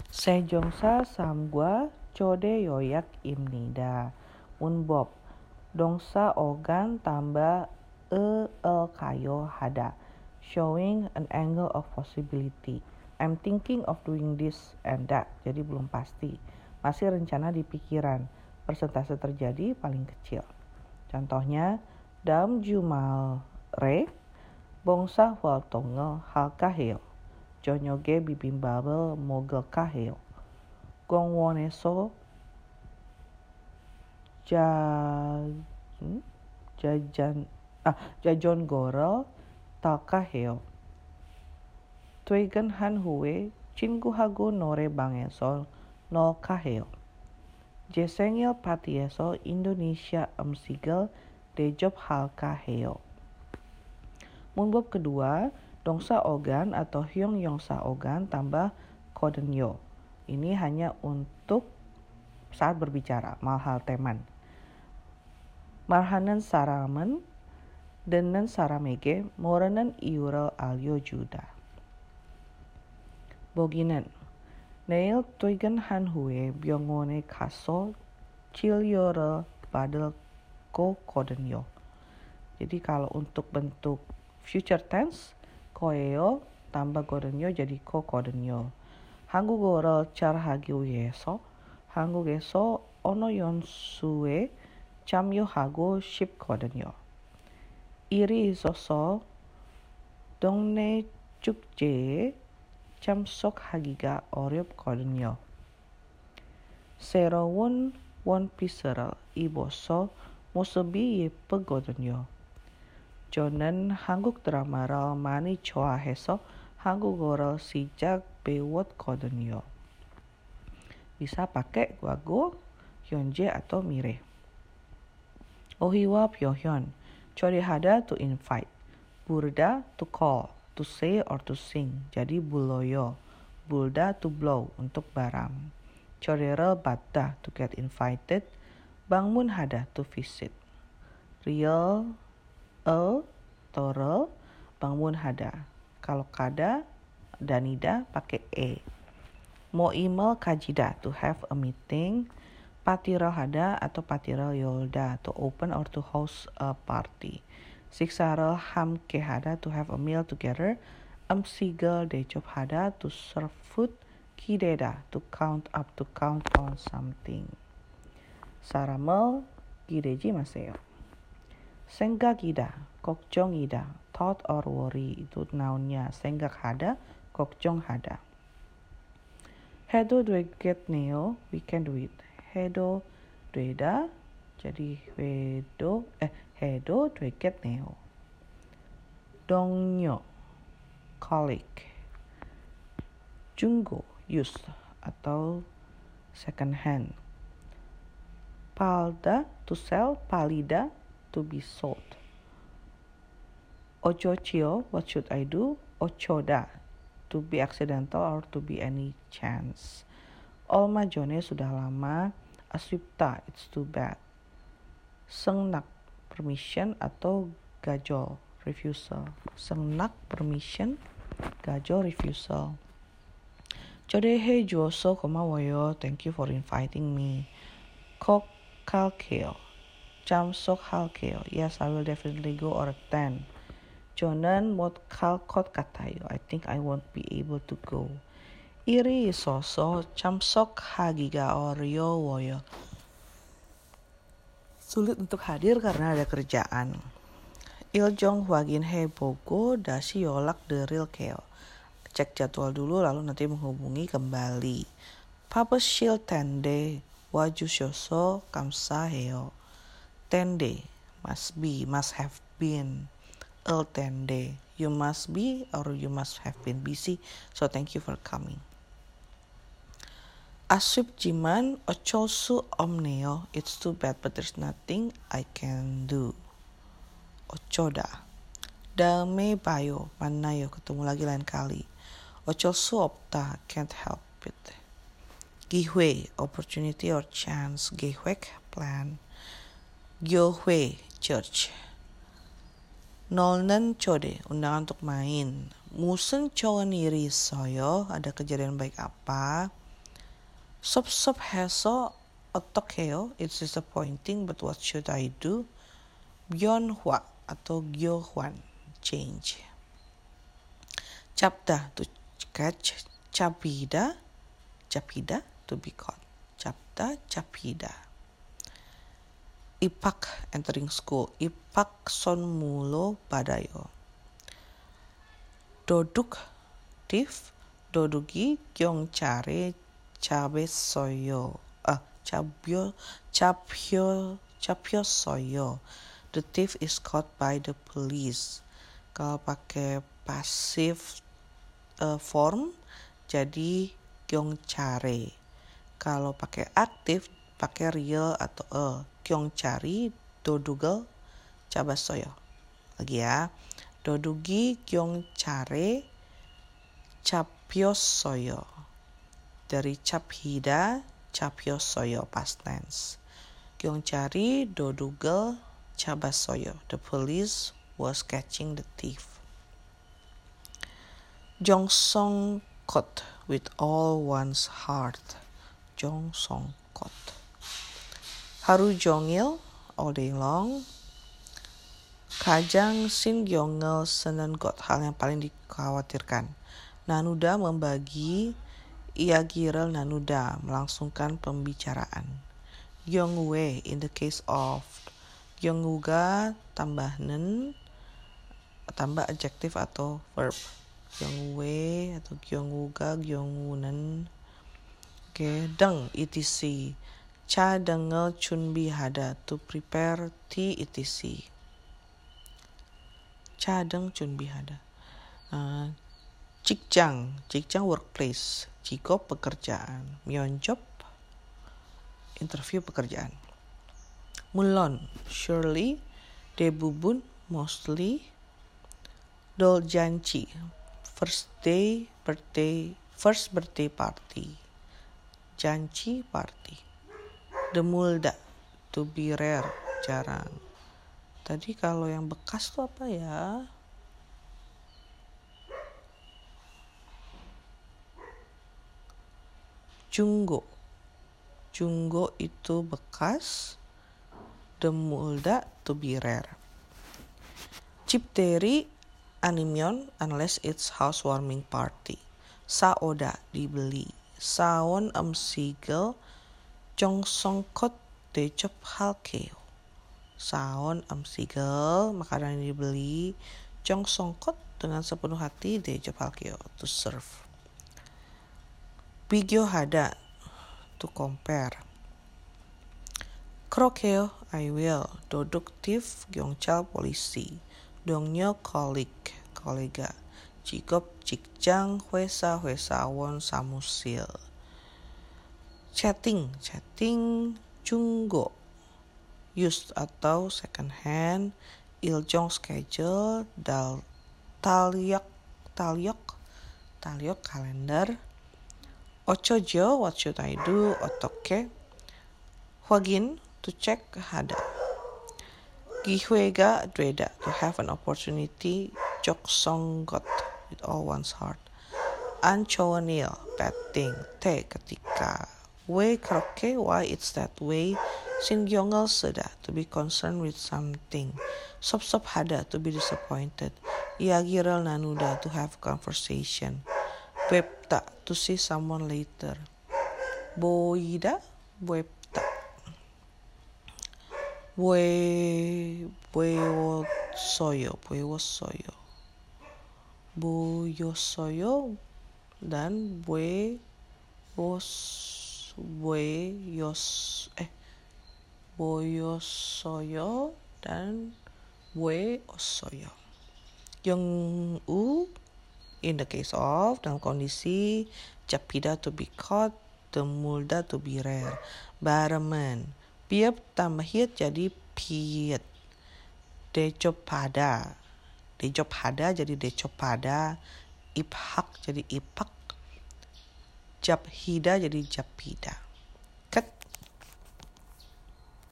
세종사 삼과 초대 요약입니다. 문법 동사 organ tambah kayo hada, showing an angle of possibility. I'm thinking of doing this and that. Jadi belum pasti. Masih rencana di pikiran. Persentase terjadi paling kecil. Contohnya, dalam jumal re, bongsa wal tongel hal kaheo. 저녁에 비빔밥을 먹을까 해요. 공원에서 자전거를 탈까 해요. 퇴근한 후에 친구하고 노래방에서 놀까 해요. 제 생일 파티에서 인도네시아 음식을 대접할까 해요. 문법 kedua, 동사 organ atau 형용사 organ tambah kodenyo. Ini hanya untuk saat berbicara, malhal teman. Marhanen 사람은 듣는 사람에게 모르는 이유를 알려주다. 보기는 내일 퇴근한 후에 병원에 가서 진료를 받을 거거든요. Jadi kalau untuk bentuk future tense, 거예요 tambah 거든요 jadi 거거든요. 한국어를 잘하기 위해서 한국에서 언어 연수에 참여하고 싶거든요. 일이 있어서 동네 축제에 참석하기가 어렵거든요. 새로운 원피스를 입어서 모습이 예쁘거든요. 저는 한국 드라마를 많이 좋아해서 한국어를 시작 배웠거든요. Bisa pakai 과거, 현재 atau 미래. 어휘와 표현. 초대하다 to invite. 부르다 to call, to say or to sing. jadi buloyo. 불다 to blow untuk barang. 초대를 받다 to get invited. 방문하다 to visit. real toro bangun hada. Kalau kada danida pakai e. Mau email kajida to have a meeting. Patiral hada atau patiral yolda to open or to host a party. Siksaral hamke hada to have a meal together. Amsigal dejob hada to serve food. Kideda to count up, to count on something. Saramel gideji maseo. 생각이다, 걱정이다, thought or worry itu nounnya. 생각하다, 걱정하다. 해도 되겠네요, we can do it. 해도 되다, jadi 해도 되겠네요. 동료, colleague. 중고, used atau second hand. Palda, to sell, palida, to be sold. Ochochio, what should I do? Ochoda, to be accidental or to be any chance. Olma Jone, sudah lama. Aswipta, it's too bad. Sengnak, permission atau gajol, refusal. Sengnak, permission, gajol, refusal. Chodehe Joso komawoyo, thank you for inviting me. Kok kalkeo. 참석 할게요. Yes, I will definitely go or attend. 저는 못 갈 것 같아요. I think I won't be able to go. 일이 있어서 참석하기가 어려워요. Sulit untuk hadir karena ada kerjaan. 일정 확인해보고 다시 연락드릴게요. cek jadwal dulu lalu nanti menghubungi kembali. 바쁘실 텐데 와주셔서 감사해요. Tende, must be, must have been. Tende, you must be or you must have been busy, so thank you for coming. 아쉽지만 어쩔 수 없네요. It's too bad, but there's nothing I can do. 어쩌다. 다음에 봐요, 만나요, ketemu lagi lain kali. 어쩔 수 없다, can't help it. 기회, opportunity or chance. 계획, plan. 교회, church. 놀는 초대, undangan untuk main. 무슨 좋은 일이 있어요? Ada kejadian baik apa? Sop heso otokeo, it's disappointing, but what should I do? Byonhwa atau gyohwan, change. Chapda, to catch. Chapida, to be caught. Chapda, chapida. Ipak, entering school. Ipak son mulo badayo. Doduk, thief. Dodugi gyongchare chabe soyo. Chapyo soyo. The thief is caught by the police. Kalau pakai passive form jadi gyongchare. Kalau pakai aktif pakai real atau gyongchari dodugal chabasoyo. Lagi ya. Dodugi gyongchare chapyosoyo. Dari chaphida chapyosoyo past tense. Gyongchari dodugal chabasoyo. The police was catching the thief. Jongsongkot, with all one's heart. Jongsongkot. Haru jongil, all day long. Kajang sin gyongel senengot, hal yang paling dikhawatirkan. Nanuda membagi, iagirel nanuda, melangsungkan pembicaraan. Gyongwe, in the case of gyonguga, tambah adjektif atau verb. Gyongwe atau gyonguga, gyongunen. Deng, etc. Cha dengel chunbi hada, to prepare tea, etc. Cha deng chunbi hada. Jikjang workplace. Jikop pekerjaan. Myeonjob interview pekerjaan. Mulon surely. Debubun mostly. Doljanchi first birthday party. Janchi party. Demulda to be rare, jarang. Tadi kalau yang bekas tuh apa ya? Junggo itu bekas. Demulda to be rare. Chipteri animyon unless it's housewarming party. Saoda dibeli. Saon sigel jongsongkot dejop halkeo. Saon sigel makanan yang dibeli. Jongsongkot dengan sepenuh hati dejop halkeo, to serve. Bigyo hada, to compare. Krokeo, I will. Doduktif gyongchal polisi. Dongnyo kolega. Jigop jikjang hwesa won samusil. Chatting junggo. Used atau second hand. Iljong schedule. Talyok kalender. Ochojo, what should I do? Otoke. Hwagin, to check hada. Gihwega dweda, to have an opportunity. Joksonggot, with all one's heart. Anchoanil, bad thing. Te ketika. We kroke, why it's that way. Singyongel seda, to be concerned with something. Sop hada, to be disappointed. Iagirel nanuda, to have conversation. Webta, to see someone later. Boida, webta. Boyosoyo dan boyosoyo dan bueosoyo. Yong-u in the case of, dalam kondisi. Japida to be caught. Demulda to be rare. Baremen. Piep tambah hit jadi piet. Dejopada jadi dejopada. Iphak jadi ipak. Japhida jadi japida.